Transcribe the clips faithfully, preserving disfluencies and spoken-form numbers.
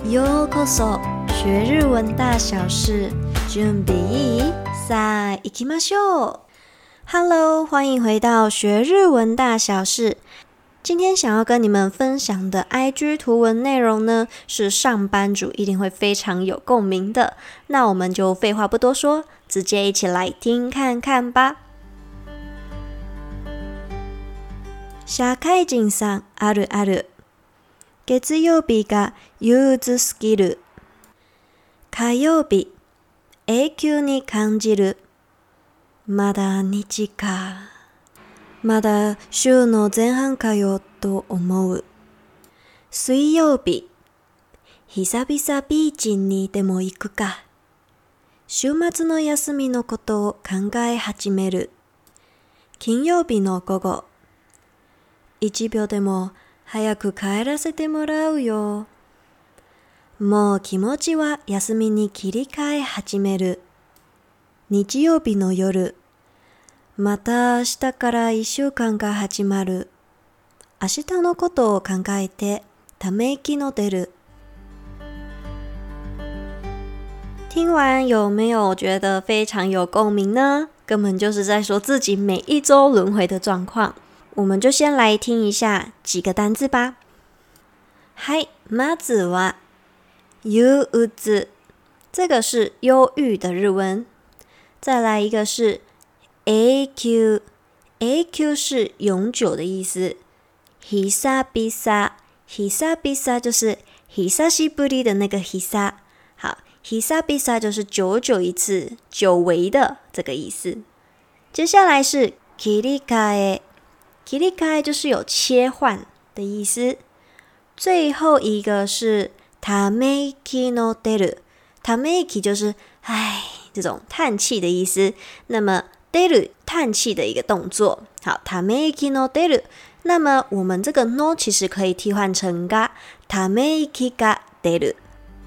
ようこそ學日文大小事，準備いい？さあ行きましょう。Hello， 歡迎回到學日文大小事。今天想要跟你們分享的 I G 圖文內容呢，是上班族一定會非常有共鳴的。那我們就廢話不多說，直接一起來聽看看吧。社會人さんあるある。月曜日が憂鬱すぎる。火曜日、永久に感じる。まだ日か。まだ週の前半かよと思う。水曜日、久々ビーチにでも行くか。週末の休みのことを考え始める。金曜日の午後、一秒でも早く帰らせてもらうよ。もう気持ちは休みに切り替え始める。日曜日の夜、また明日から一週間が始まる。明日のことを考えてため息の出る。聽完有沒有覺得非常有共鳴呢？根本就是在說自己每一周輪迴的狀況。我們就先來聽一下幾個單字吧。はい、まずは憂鬱，這個是憂鬱的日文。再來一個是永久，永久是永久的意思。久々，久々就是久しぶり的那個久。好，久々就是久久一次，久違的這個意思。接下來是切り替え。切り替え就是有切換的意思。最後一個是ため息の出る，ため息就是唉這種嘆氣的意思。那麼出る嘆氣的一個動作。好，ため息の出る。那麼我們這個 no 其實可以替換成が，ため息が出る。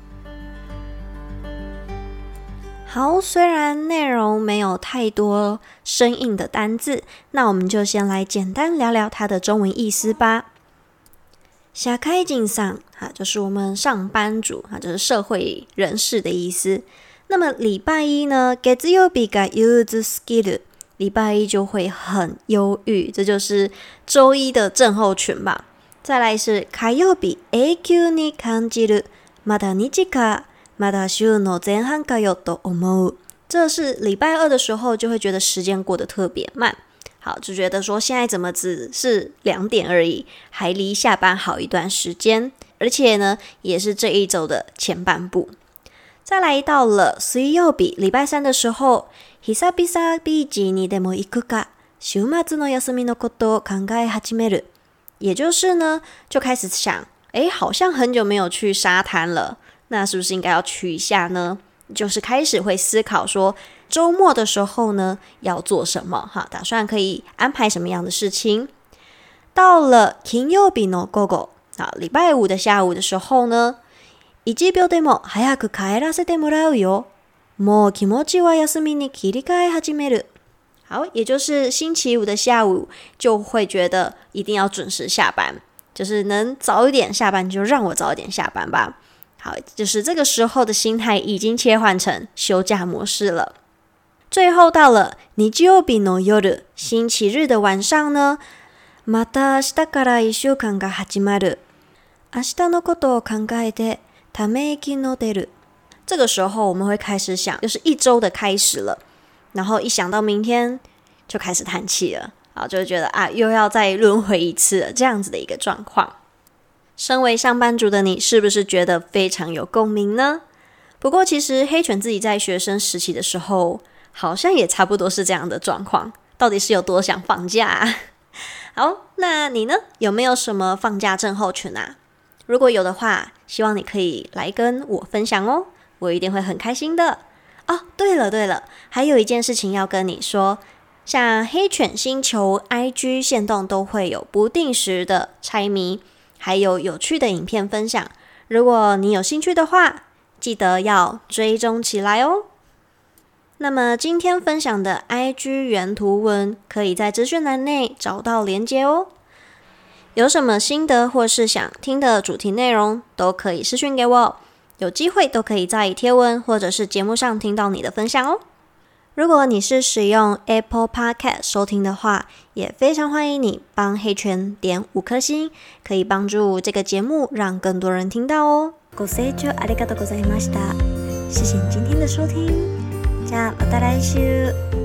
好，雖然內容沒有太多生硬的單字，那我們就先來簡單聊聊它的中文意思吧。社會人さん，哈，就是我們上班族，哈，就是社會人士的意思。那麼禮拜一呢，月曜日が憂鬱すぎる，禮拜一就會很憂鬱，這就是週一的症候群吧。再來是火曜日、永久に感じる、まだ日か。まだ週の前半かよと思う，這是禮拜二的時候就會覺得時間過得特別慢，好，就覺得說現在怎麼只是兩點而已，還離下班好一段時間，而且呢也是這一周的前半部。再來到了水曜日，禮拜三的時候，久々ビーチにでも行くか、週末の休みのことを考え始める，也就是呢就開始想，誒，好像很久沒有去沙灘了。那是不是應該要去一下呢？就是開始會思考說，週末的時候呢要做什麼？哈，打算可以安排什麼樣的事情？到了金曜日の午後，啊，禮拜五的下午的時候呢，一秒でも早く帰らせてもらうよ。もう気持ちは休みに切り替え始める。好，也就是星期五的下午就會覺得一定要準時下班，就是能早一點下班就讓我早一點下班吧。好，就是這個時候的心態已經切換成休假模式了。最後到了日曜日の夜，星期日的晚上呢，また明日から一週間が始まる。明日のことを考えてため息の出る。這個時候我們會開始想，就是一周的開始了，然後一想到明天就開始嘆氣了，啊，就會覺得啊，又要再輪迴一次了，這樣子的一個狀況。身為上班族的你，是不是覺得非常有共鳴呢？不過其實黑犬自己在學生時期的時候，好像也差不多是這樣的狀況。到底是有多想放假啊？好，那你呢？有沒有什麼放假症候群啊？如果有的話，希望你可以來跟我分享哦，我一定會很開心的。哦，對了對了，還有一件事情要跟你說，像黑犬星球 I G 限動都會有不定時的猜謎，還有有趣的影片分享，如果你有興趣的話，記得要追蹤起來哦。那麼今天分享的 I G 原圖文，可以在資訊欄內找到連結哦。有什麼心得或是想聽的主題內容，都可以私訊給我。 有機會都可以在貼文或者是節目上聽到你的分享哦。如果你是使用 Apple Podcast 收聽的話，也非常歡迎你幫黑犬點五顆星，可以幫助這個節目讓更多人聽到哦。ご清聴ありがとうございました。謝謝你今天的收聽，じゃあまた來週。